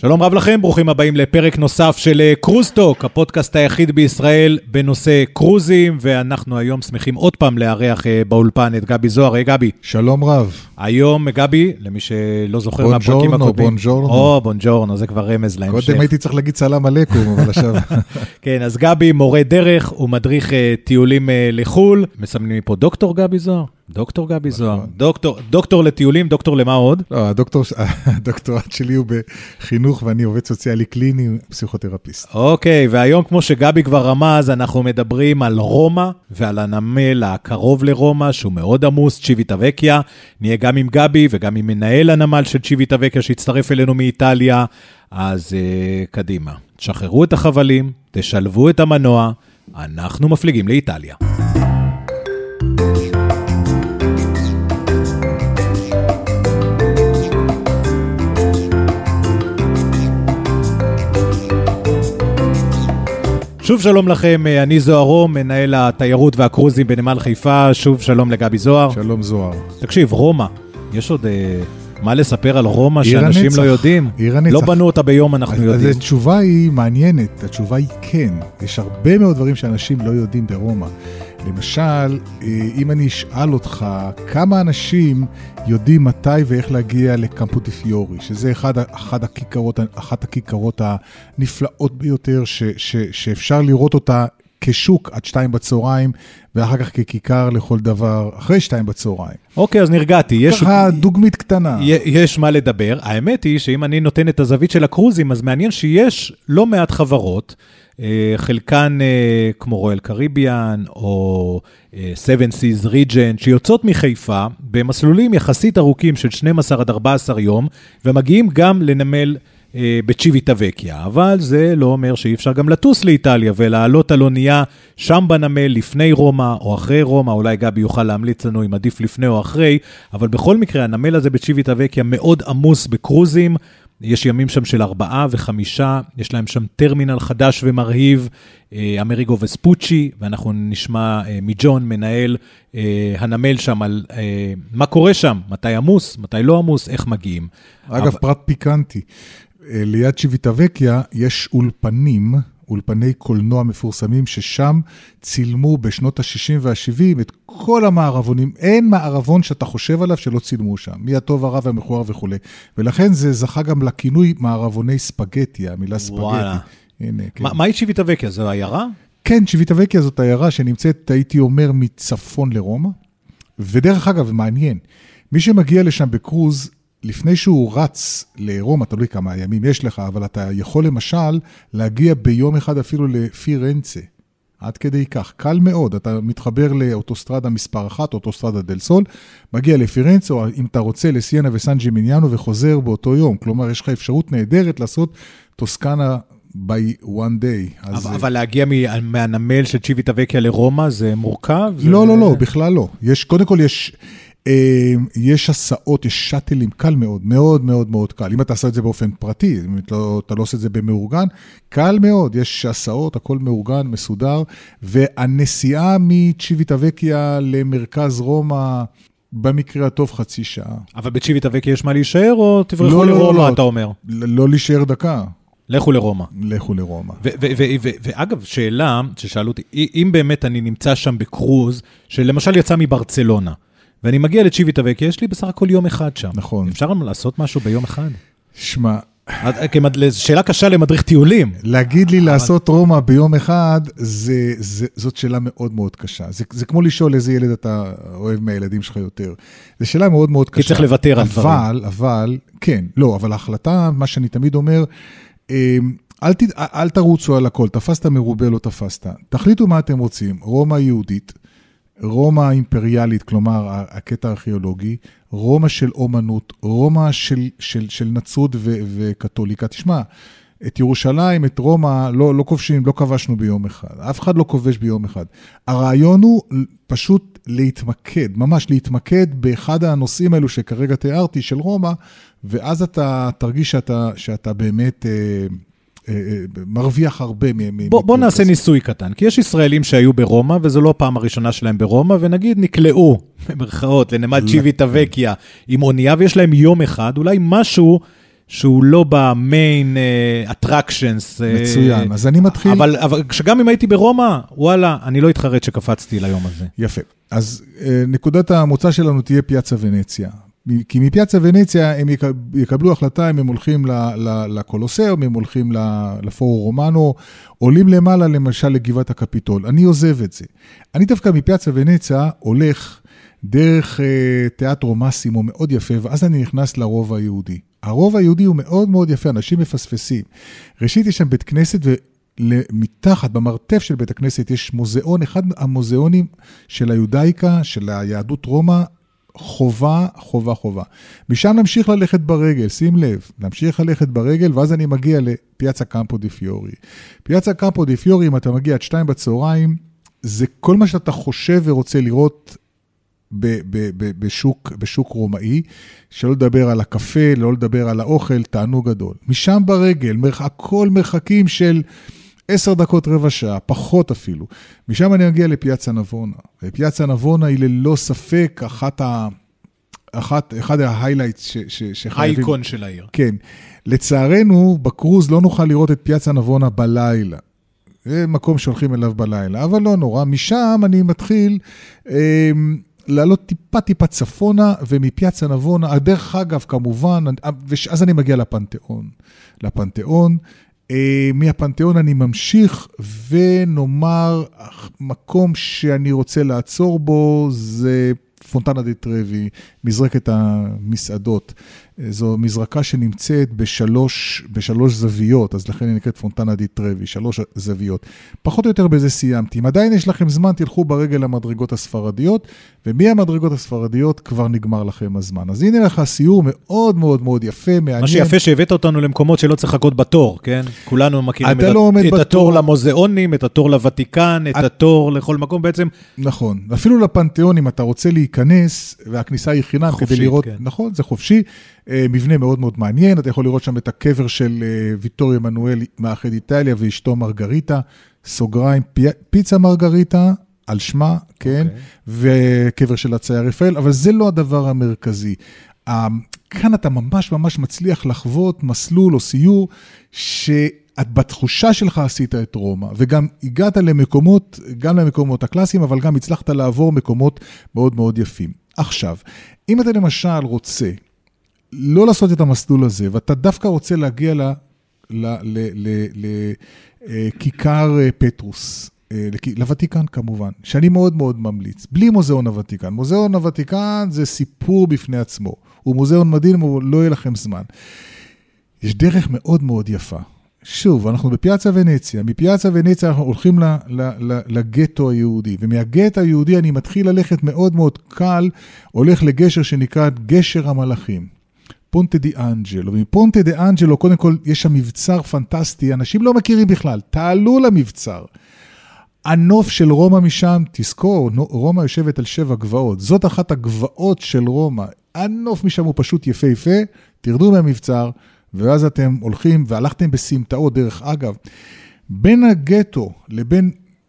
שלום רב לכם, ברוכים הבאים לפרק נוסף של קרוזטוק, הפודקאסט היחיד בישראל בנושא קרוזים, ואנחנו היום שמחים עוד פעם לארח באולפן את גבי זוהר. היי גבי. שלום רב. היום גבי, למי שלא זוכר מהפרקים הקודמים. בונג'ורנו. בונג'ורנו, זה כבר רמז להמשך. קודם הייתי צריך להגיד סלאם עליכום, אבל עכשיו... כן, אז גבי מורה דרך, הוא מדריך טיולים לחול, מסמנים מפה דוקטור גבי זוהר. דוקטור גבי זוהר, דוקטור לטיולים, דוקטור למה עוד? לא, הדוקטורט שלי הוא בחינוך ואני עובד סוציאלי קליני, פסיכותרפיסט. אוקיי, והיום כמו שגבי כבר רמז, אנחנו מדברים על רומא ועל הנמל הקרוב לרומא, שהוא מאוד עמוס, צ'יוויטה-וקיה. נהיה גם עם גבי וגם עם מנהל הנמל של צ'יוויטה-וקיה שהצטרף אלינו מאיטליה. אז קדימה, תשחררו את החבלים, תשלבו את המנוע, אנחנו מפליגים לאיטליה. שוב שלום לכם, אני זוהר, מנהל התיירות והקרוזים בנמל חיפה. שוב שלום לגבי זוהר. שלום זוהר. תקשיב, רומא, יש עוד מה לספר על רומא שאנשים לא יודעים? לא בנו אותה ביום, אנחנו יודעים. אז התשובה היא מעניינת, התשובה היא כן. יש הרבה מאוד דברים שאנשים לא יודעים ברומא. למשל, אם אני אשאל אותך, כמה אנשים יודעים מתי ואיך להגיע לקמפו די פיורי, שזה אחת הכיכרות הנפלאות ביותר, שאפשר לראות אותה כשוק עד 2 בצהריים, ואחר כך ככיכר לכל דבר, אחרי 2 בצהריים. אוקיי, אז נרגעתי. ככה דוגמית קטנה. יש מה לדבר. האמת היא שאם אני נותן את הזווית של הקרוזים, אז מעניין שיש לא מעט חברות, חלקן כמו רויאל קריביאן או Seven Seas Regent, שיוצאות מחיפה במסלולים יחסית ארוכים של 12 עד 14 יום, ומגיעים גם לנמל בצ'יוויטה-וקיה. אבל זה לא אומר שאי אפשר גם לטוס לאיטליה ולעלות על אונייה שם בנמל לפני רומא או אחרי רומא. אולי גבי יוכל להמליץ לנו אם עדיף לפני או אחרי, אבל בכל מקרה הנמל הזה בצ'יוויטה-וקיה מאוד עמוס בקרוזים. יש ימים שם של 4 ו5, יש להם שם טרמינל חדש ומרהיב, אמריגו וספוצ'י, ואנחנו נשמע מג'ון, מנהל הנמל שם, על מה קורה שם, מתי עמוס, מתי לא עמוס, איך מגיעים. אגב, פרט פיקנטי, ליד צ'יוויטה-וקיה יש אולפני קולנוע מפורסמים, ששם צילמו בשנות ה-60 וה-70 את כל המערבונים. אין מערבון שאתה חושב עליו שלא צילמו שם, מהטוב הרע והמכוער וכו'. ולכן זה זכה גם לכינוי מערבוני ספגטי, המילה ספגטי. הנה, כן. מהי צ'יוויטה-וקיה? זו עיירה? כן, צ'יוויטה-וקיה זאת עיירה שנמצאת, הייתי אומר, מצפון לרומא. ודרך אגב, מעניין, מי שמגיע לשם בקרוז, לפני שהוא רץ לרומא, תלוי כמה ימים יש לך, אבל אתה יכול למשל להגיע ביום אחד אפילו לפירנצה. עד כדי כך, קל מאוד, אתה מתחבר לאוטוסטרדה מספר 1, אוטוסטרדה דל סול, מגיע לפירנצה, או אם אתה רוצה לסיינה וסן ג'ימיניאנו וחוזר באותו יום. כלומר, יש לך אפשרות נהדרת לעשות טוסקנה by one day. אבל להגיע מהנמל של צ'יוויטה-וקיה לרומא זה מורכב? לא, בכלל לא. קודם כל יש הסעות, יש שטלים, קל מאוד, מאוד מאוד מאוד קל. אם אתה עושה את זה באופן פרטי, אם אתה לא עושה את זה במאורגן, קל מאוד, יש הסעות, הכל מאורגן, מסודר, והנסיעה מצ'יוויטה-וקיה למרכז רומא, במקרה הטוב 0.5 שעה. אבל בצ'יוויטה-וקיה יש מה להישאר, או תברחו לרומא, אתה אומר? לא להישאר דקה. לכו לרומא. לכו לרומא. ואגב, שאלה ששאלו אותי, אם באמת אני נמצא שם בקרוז, שלמשל יצא מברצלונה, ואני מגיע לצ'יוויטה-וקיה, יש לי בסך הכל יום אחד שם. נכון. אפשר לנו לעשות משהו ביום אחד? שמע. שאלה קשה למדריך טיולים. להגיד לי לעשות רומא ביום אחד, זאת שאלה מאוד מאוד קשה. זה כמו לשאול איזה ילד אתה אוהב מהילדים שלך יותר. זו שאלה מאוד מאוד קשה. כי צריך לוותר על דברים. אבל, כן, לא, אבל ההחלטה, מה שאני תמיד אומר, אל תרוצו על הכל, תפסת מרובה, לא תפסת. תחליטו מה אתם רוצים, רומא יהודית, רומא אימפריאלית, כלומר, הקטע הארכיאולוגי, רומא של אומנות, רומא של נצרות וקתוליקה. תשמע, את ירושלים, את רומא, לא כובשים, לא כבשנו ביום אחד. אף אחד לא כובש ביום אחד. הרעיון הוא פשוט להתמקד, ממש להתמקד באחד הנושאים האלו שכרגע תיארתי של רומא, ואז אתה תרגיש שאתה באמת מרוויח הרבה. בוא נעשה ניסוי קטן, כי יש ישראלים שהיו ברומא, וזו לא הפעם הראשונה שלהם ברומא, ונגיד נקלעו, במרכאות, לנמל צ'יוויטה-וקיה, עם אונייה, ויש להם יום אחד, אולי משהו שהוא לא במיין אטרקשנס. מצוין, אז אני מתחיל... אבל שגם אם הייתי ברומא, וואלה, אני לא אתחרט שקפצתי ליום הזה. יפה. אז נקודת המוצא שלנו תהיה פיאצה ונציה. כי מפיאצה ונציה הם יקבלו החלטה אם הם הולכים לקולוסאום, הם הולכים לפורו רומנו, עולים למעלה למשל לגבעת הקפיטול. אני עוזב את זה. אני דווקא מפיאצה ונציה הולך דרך תיאטרו מאסימו מאוד יפה, ואז אני נכנס לרובע היהודי. הרובע היהודי הוא מאוד מאוד יפה, אנשים מפספסים. ראשית יש שם בית כנסת, ומתחת, במרתף של בית הכנסת, יש מוזיאון, אחד המוזיאונים של היהודאיקה, של היהדות רומא, חובה. משם נמשיך ללכת ברגל, שים לב, נמשיך ללכת ברגל, ואז אני מגיע לפיאצה קמפו די פיורי. פיאצה קמפו די פיורי, אם אתה מגיע עד 2 בצהריים, זה כל מה שאתה חושב ורוצה לראות בשוק רומאי, שלא לדבר על הקפה, לא לדבר על האוכל, תענוג גדול. משם ברגל, הכל מרחקים של 10 דקות, רבע שעה, פחות אפילו. משם אני מגיע לפיאצה נבונה. ופיאצה נבונה היא ללא ספק אחד ההיילייטס שחייבים... האיקון של העיר. כן. לצערנו, בקרוז לא נוכל לראות את פיאצה נבונה בלילה. זה מקום שהולכים אליו בלילה, אבל לא נורא. משם אני מתחיל לעלות טיפה צפונה, ומפיאצה נבונה, דרך אגב כמובן, אז אני מגיע לפנתיאון, מהפנתיאון אני ממשיך, ונאמר, מקום שאני רוצה לעצור בו, זה פונטנה די טרבי, מזרקת המסעדות. זו מזרקה שנמצאת בשלוש זוויות, אז לכן היא נקראת פונטנה די טרבי, 3 זוויות. פחות או יותר בזה סיימתי. אם עדיין יש לכם זמן, תלכו ברגל למדרגות הספרדיות, ומהמדרגות הספרדיות כבר נגמר לכם הזמן. אז הנה לך סיור מאוד מאוד מאוד יפה, מעניין. מה שיפה שהבאת אותנו למקומות שלא צריך לחכות בתור, כן? כולנו מכירים את התור למוזיאונים, את התור לוותיקן, את התור לכל מקום בעצם. נכון. אפילו לפנתיאון, אם אתה רוצה להיכנס, והכניסה היא חינם כדי לראות, נכון, זה חופשי. מבנה מאוד מאוד מעניין, אתה יכול לראות שם את הקבר של ויטוריו מנואל מאחד איטליה ואשתו מרגריטה, סוגריים, פיצה מרגריטה על שמה, כן, וקבר של הצייר רפאל, אבל זה לא הדבר המרכזי. כאן אתה ממש מצליח לחוות מסלול או סיור בתחושה שלך עשית את רומא, וגם הגעת למקומות, גם למקומות הקלאסיים, אבל גם הצלחת לעבור מקומות מאוד מאוד יפים. עכשיו, אם אתה למשל רוצה לא לעשות את המסלול הזה, ואתה דווקא רוצה להגיע לכיכר פטרוס, לוותיקן כמובן, שאני מאוד מאוד ממליץ, בלי מוזיאון הוותיקן. מוזיאון הוותיקן זה סיפור בפני עצמו, הוא מוזיאון מדהים, אבל לא יהיה לכם זמן. יש דרך מאוד מאוד יפה. שוב, אנחנו בפיאצה ונציה, מפיאצה ונציה אנחנו הולכים לגטו היהודי, ומהגטו היהודי אני מתחיל ללכת מאוד מאוד קל, הולך לגשר שנקרא גשר המלאכים. פונטה די אנג'לו, ומפונטה די אנג'לו, קודם כל, יש שם מבצר פנטסטי, אנשים לא מכירים בכלל, תעלו למבצר. הנוף של רומא משם, תזכור, רומא יושבת על 7 גבעות, זאת אחת הגבעות של רומא, הנוף משם הוא פשוט יפה, תרדו מהמבצר, ואז אתם הולכים, והלכתם בסמטאות, דרך אגב, בין הגטו לבין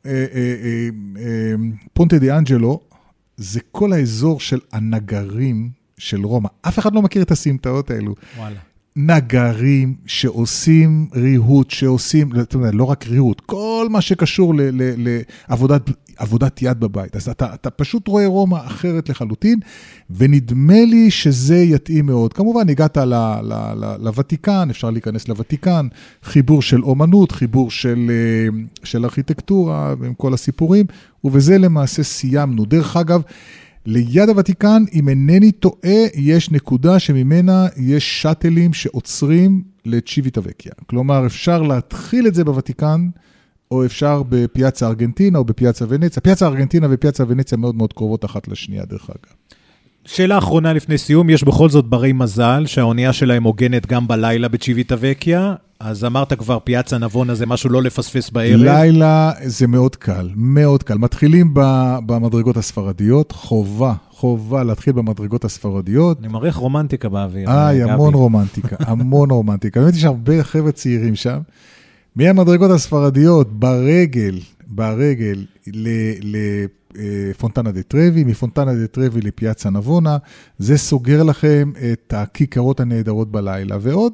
פונטה די אנג'לו, זה כל האזור של הנגרים, של רומא. אף אחד לא מכיר את הסמטאות האלו. וואלה. נגרים שעושים ריהוט, לא רק ריהוט, כל מה שקשור לעבודת יד בבית. אז אתה פשוט רואה רומא אחרת לחלוטין, ונדמה לי שזה יתאים מאוד. כמובן, הגעת לוותיקן, אפשר להיכנס לוותיקן, חיבור של אומנות, חיבור של ארכיטקטורה, עם כל הסיפורים, ובזה למעשה סיימנו. דרך אגב, ליד הוותיקן, אם אינני טועה, יש נקודה שממנה יש שטלים שעוצרים לצ'יוויטה וקיה. כלומר, אפשר להתחיל את זה בוותיקן, או אפשר בפיאצה ארגנטינה או בפיאצה ונציה. פיאצה ארגנטינה ופיאצה ונציה מאוד מאוד קרובות אחת לשנייה, דרך אגב. שאלה אחרונה לפני סיום, יש בכל זאת ברי מזל שהאונייה שלהם הוגנת גם בלילה בצ'יוויטה וקיה, אז אמרת כבר פיאצה נבונה זה משהו לא לפספס בערב. לילה זה מאוד קל, מאוד קל. מתחילים במדרגות הספרדיות, חובה להתחיל במדרגות הספרדיות. אני מראה רומנטיקה באוויר. המון רומנטיקה, המון רומנטיקה. באמת יש הרבה חבר'ה צעירים שם. מהמדרגות הספרדיות ברגל לפונטנה די טרבי, מפונטנה די טרבי לפיאצה נבונה, זה סוגר לכם את הכיכרות הנהדרות בלילה, ועוד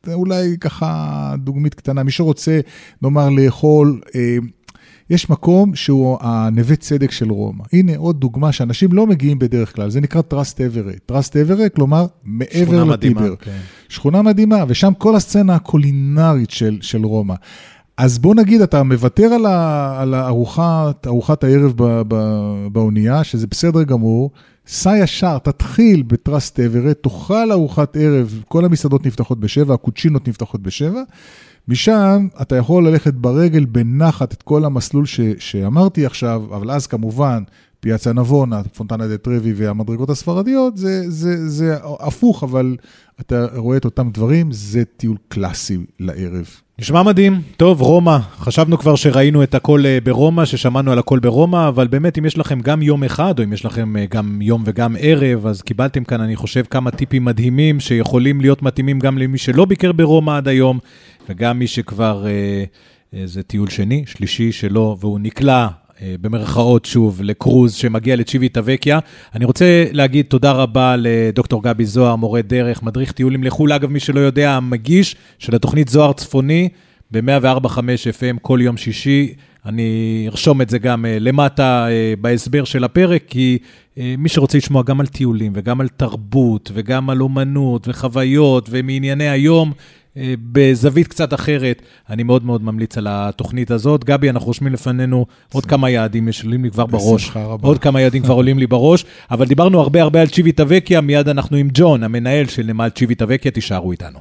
אולי ככה דוגמית קטנה, מי שרוצה, נאמר, לאכול, יש מקום שהוא הנווה צדק של רומא. הנה עוד דוגמה שאנשים לא מגיעים בדרך כלל, זה נקרא טרסט אברט. טרסט אברט, כלומר, מעבר לטיבר. כן. שכונה מדהימה, ושם כל הסצנה הקולינרית של רומא. אז בוא נגיד, אתה מוותר על ארוחת הערב באונייה, שזה בסדר גמור, סע ישר, תתחיל בטרסט אברט, תאכל ארוחת ערב, כל המסעדות נפתחות ב7, הקוצ'ינות נפתחות ב7, משם אתה יכול ללכת ברגל בנחת את כל המסלול שאמרתי עכשיו, אבל אז כמובן, פיאצה נבונה, פונטנה דה טרבי והמדרגות הספרדיות, זה הפוך, אבל אתה רואה את אותם דברים, זה טיול קלאסי לערב. נשמע מדהים. טוב, רומא, חשבנו כבר שראינו את הכל ברומא, ששמענו על הכל ברומא, אבל באמת אם יש לכם גם יום אחד, או אם יש לכם גם יום וגם ערב, אז קיבלתם כאן, אני חושב, כמה טיפים מדהימים, שיכולים להיות מתאימים גם למי שלא ביקר ברומא עד היום, וגם מי שכבר, זה טיול שני, שלישי שלו, והוא נקלע במרכאות שוב לקרוז שמגיע לצ'יוויטה וקיה. אני רוצה להגיד תודה רבה לדוקטור גבי זוהר, מורה דרך, מדריך טיולים לחול, אגב מי שלא יודע, המגיש של התוכנית זוהר צפוני ב-104.5 FM כל יום שישי. אני ארשום את זה גם למטה בהסבר של הפרק, כי מי שרוצה לשמוע גם על טיולים וגם על תרבות וגם על אומנות וחוויות ומענייני היום, בזווית קצת אחרת, אני מאוד מאוד ממליץ על התוכנית הזאת. גבי, אנחנו רושמים לפנינו עוד כמה יעדים, עולים לי כבר בראש, עוד כמה יעדים כבר עולים לי בראש, אבל דיברנו הרבה על צ'יוויטה וקיה, מיד אנחנו עם ג'ון, המנהל של נמל צ'יוויטה וקיה, תישארו איתנו.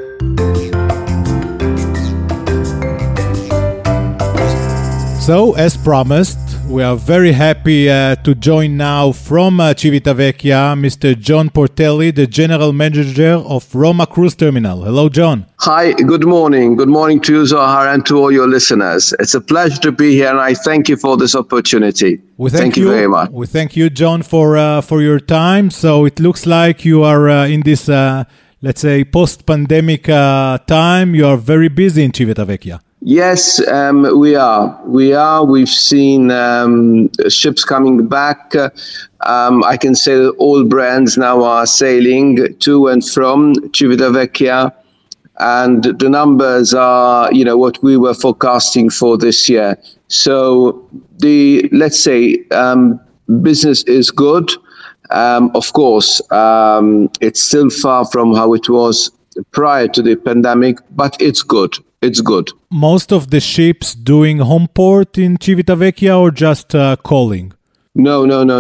So, as promised, we are very happy to join now from Civitavecchia, Mr. John Portelli, the General Manager of Roma Cruise Terminal. Hello, John. Hi, good morning. Good morning to you, Zohar, and to all your listeners. It's a pleasure to be here, and I thank you for this opportunity. Thank you very much. We thank you, John, for your time. So it looks like you are in this, let's say, post-pandemic time. You are very busy in Civitavecchia. Yes, we are. We've seen ships coming back. I can say that all brands now are sailing to and from Civitavecchia, and the numbers are, what we were forecasting for this year. So let's say, business is good. Of course, it's still far from how it was prior to the pandemic, but it's good. It's good. Most of the ships doing home port in Civitavecchia or just calling? No.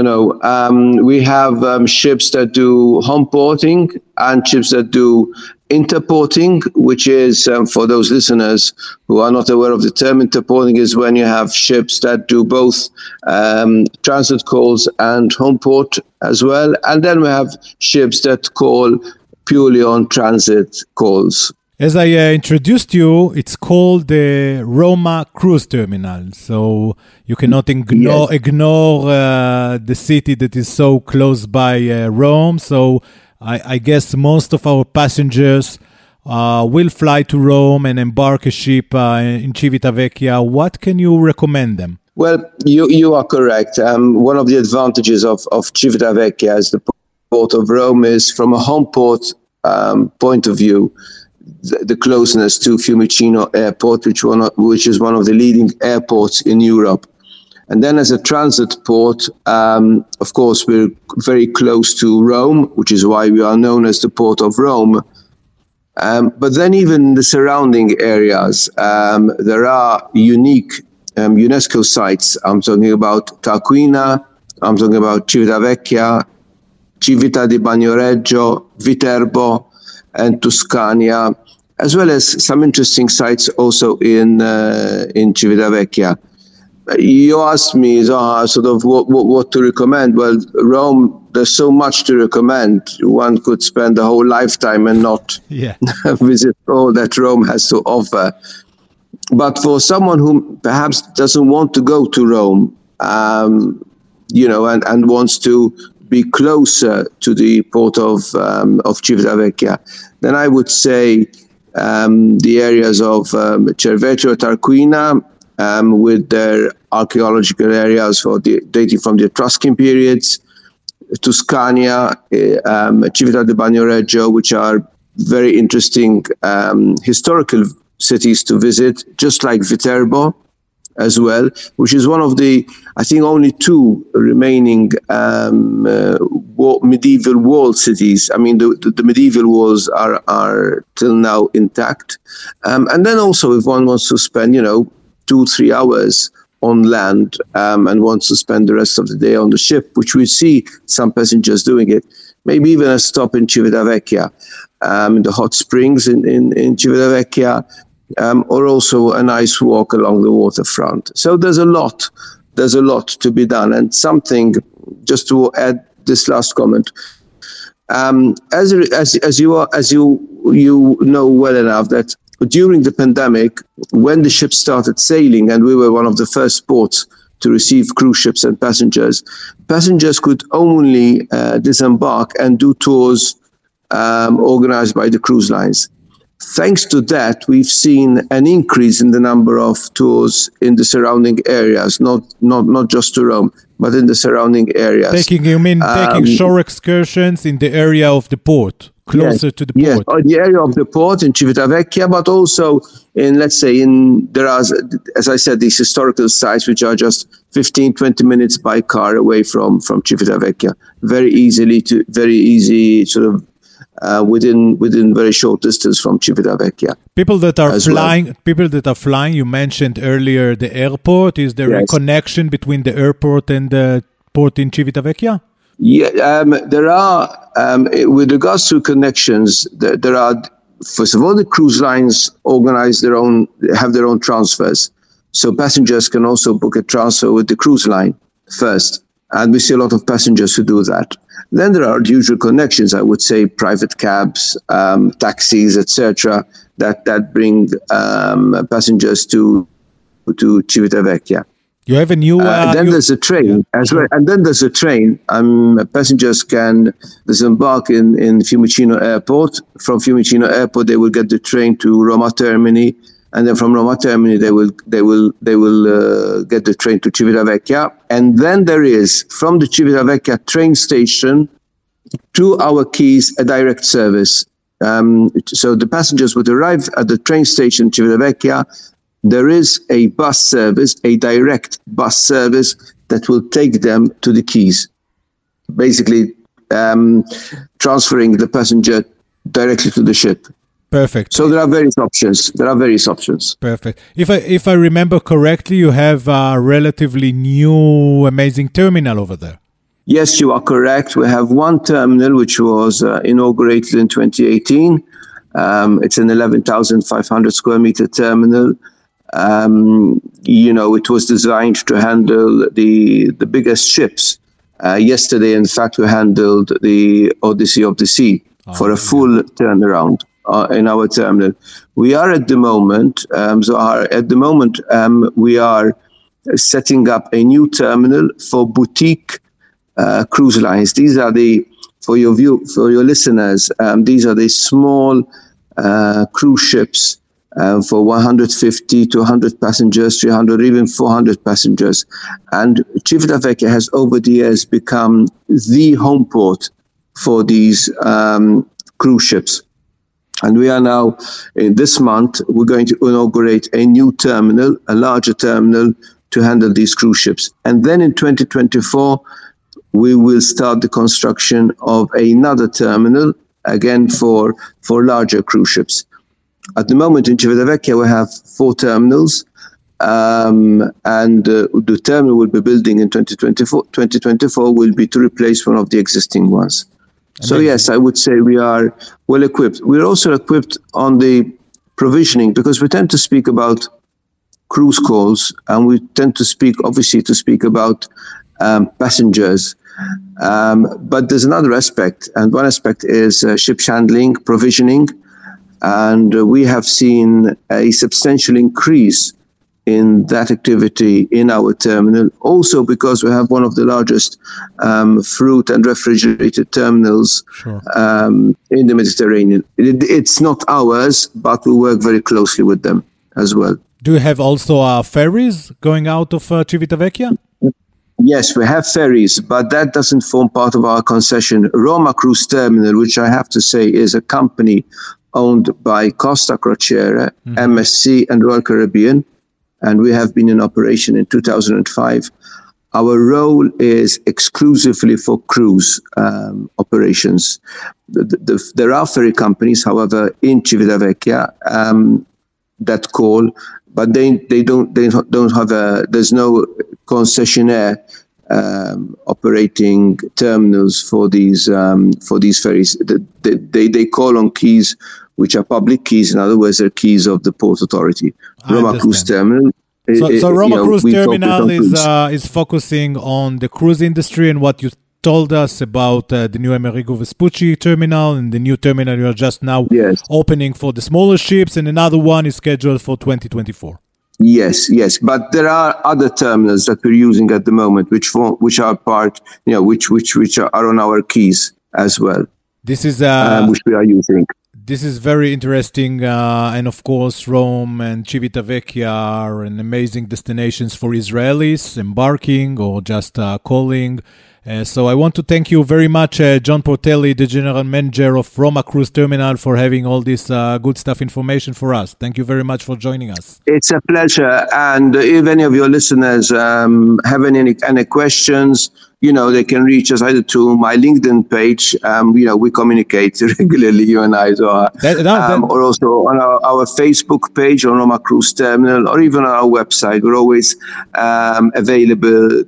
We have ships that do home porting and ships that do interporting, which is, for those listeners who are not aware of the term, interporting is when you have ships that do both transit calls and home port as well. And then we have ships that call purely on transit calls. As I introduced you, it's called the Roma Cruise Terminal. So you cannot ignore the city that is so close by Rome. So I guess most of our passengers will fly to Rome and embark a ship in Civitavecchia. What can you recommend them? Well, you are correct. One of the advantages of Civitavecchia as the port of Rome is, from a home port point of view, the closeness to Fiumicino Airport, which is one of the leading airports in Europe. And then as a transit port, of course, we're very close to Rome, which is why we are known as the Port of Rome. But then even in the surrounding areas, there are unique UNESCO sites. I'm talking about Tarquinia, I'm talking about Civitavecchia, Civita di Bagnoregio, Viterbo, and Tuscania, as well as some interesting sites also in Civitavecchia. You asked me, Zohar, sort of what to recommend. Well, Rome, there's so much to recommend. One could spend a whole lifetime and not visit all that Rome has to offer. But for someone who perhaps doesn't want to go to Rome, and wants to be closer to the port of Civitavecchia, then I would say the areas of Cervetero, Tarquinia, with their archaeological areas dating from the Etruscan periods, Tuscania, Civita di Bagnoregio, which are very interesting historical cities to visit, just like Viterbo as well, which is one of the, I think, only two remaining medieval walled cities. I mean, the medieval walls are till now intact. And then also, if one wants to spend, 2-3 hours on land and wants to spend the rest of the day on the ship, which we see some passengers doing it, maybe even a stop in Civitavecchia, in the hot springs in Civitavecchia, or also a nice walk along the waterfront. So there's a lot to be done. And something, just to add this last comment, as you know well enough, that during the pandemic, when the ships started sailing, and we were one of the first ports to receive cruise ships and passengers could only disembark and do tours organized by the cruise lines. Thanks to that, we've seen an increase in the number of tours in the surrounding areas, not just to Rome, but in the surrounding areas. Taking shore excursions in the area of the port, closer to the port? Yes, the area of the port in Civitavecchia, but also in, let's say, there are, as I said, these historical sites which are just 15-20 minutes by car away from Civitavecchia. Very easy sort of within very short distance from Civitavecchia. People that are flying, you mentioned earlier the airport. Is there a connection between the airport and the port in Civitavecchia? Yeah, there are, with regards to connections, there are, first of all, the cruise lines have their own transfers. So passengers can also book a transfer with the cruise line first. And we see a lot of passengers who do that. Then there are the usual connections, I would say, private cabs, taxis, etc., that bring passengers to Civitavecchia. You have a new... then there's a train as well. And then there's a train. Passengers can disembark in Fiumicino Airport. From Fiumicino Airport, they will get the train to Roma Termini. And then from Roma Termini, they will get the train to Civitavecchia. And then there is, from the Civitavecchia train station to our quays, a direct service. So the passengers would arrive at the train station Civitavecchia. There is a bus service, a direct bus service that will take them to the quays, basically transferring the passenger directly to the ship. Perfect. So there are various options. Perfect. If I remember correctly, you have a relatively new, amazing terminal over there. Yes, you are correct. We have one terminal which was inaugurated in 2018. It's an 11,500 square meter terminal. It was designed to handle the biggest ships. Yesterday, in fact, we handled the Odyssey of the Sea for a full turnaround in our terminal. We are at the moment, we are setting up a new terminal for boutique cruise lines. These are for your listeners, these are the small cruise ships for 150 to 100 passengers, 300, even 400 passengers. And Civitavecchia has over the years become the home port for these cruise ships. And we are now, in this month, we're going to inaugurate a new terminal, a larger terminal to handle these cruise ships. And then in 2024, we will start the construction of another terminal, again for larger cruise ships. At the moment in Civitavecchia, we have 4 terminals, and the terminal we'll be building in 2024 will be to replace one of the existing ones. Amazing. So yes, I would say we are well equipped. We're also equipped on the provisioning, because we tend to speak about cruise calls, and we tend to speak about passengers. But there's another aspect, and one aspect is ship handling, provisioning. And we have seen a substantial increase in that activity in our terminal, also because we have one of the largest fruit and refrigerated terminals in the Mediterranean. It's not ours, but we work very closely with them as well. Do you have also ferries going out of Civitavecchia? Yes, we have ferries, but that doesn't form part of our concession. Roma Cruise Terminal, which I have to say is a company owned by Costa Crociere, MSC, and Royal Caribbean, and we have been in operation in 2005. Our role is exclusively for cruise operations. There are ferry companies, however, in Civitavecchia that call, but they don't have there's no concessionaire operating terminals for these ferries. They call on keys which are public keys. In other words, they're keys of the Port Authority. Roma Cruise Terminal. So Roma Cruise Terminal is focusing on the cruise industry, and what you told us about the new Amerigo Vespucci terminal and the new terminal you are just now opening for the smaller ships, and another one is scheduled for 2024. Yes, but there are other terminals that we're using at the moment, which are part, which are on our keys as well. This is which we are using. This is very interesting, and of course, Rome and Civitavecchia are an amazing destinations for Israelis embarking or just calling. So I want to thank you very much, John Portelli, the General Manager of Roma Cruise Terminal, for having all this good stuff information for us. Thank you very much for joining us. It's a pleasure. And if any of your listeners have any questions, they can reach us either to my LinkedIn page. We communicate regularly, you and I, or also on our Facebook page on Roma Cruise Terminal, or even on our website. We're always available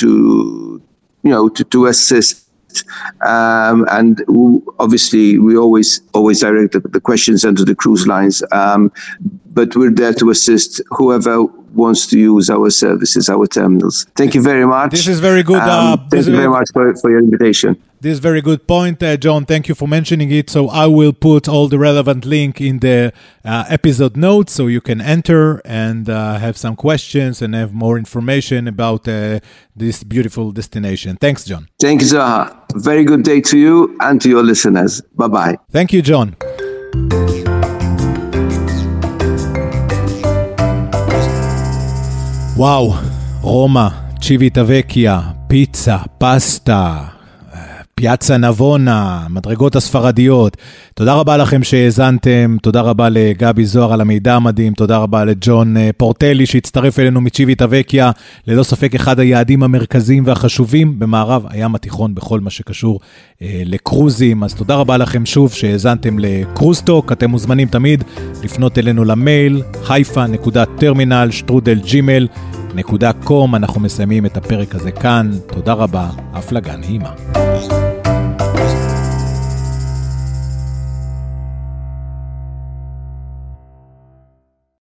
to assist. And obviously, we always direct the questions into the cruise lines. But we're there to assist whoever wants to use our services, our terminals. Thank you very much. This is very good. Thank you very much for your invitation. This is very good point, John. Thank you for mentioning it. So I will put all the relevant link in the episode notes so you can enter and have some questions and have more information about this beautiful destination. Thanks, John. Thank you, Zaha. Very good day to you and to your listeners. Bye-bye. Thank you, John. וואו, רומא, צ'יוויטאבקיה, פיצה, פסטה, פיאצה נבונה, מדרגות הספרדיות. תודה רבה לכם שהאזנתם, תודה רבה לגבי זוהר על המידע המדהים, תודה רבה לג'ון פורטלי שהצטרף אלינו מצ'יוויטאבקיה, ללא ספק אחד היעדים המרכזיים והחשובים במערב הים התיכון בכל מה שקשור לקרוזים. אז תודה רבה לכם שוב שהאזנתם לקרוזטוק, אתם מוזמנים תמיד לפנות אלינו למייל haifa.terminal@gmail.com. אנחנו מסיימים את הפרק הזה כאן, תודה רבה, הפלגה נעימה.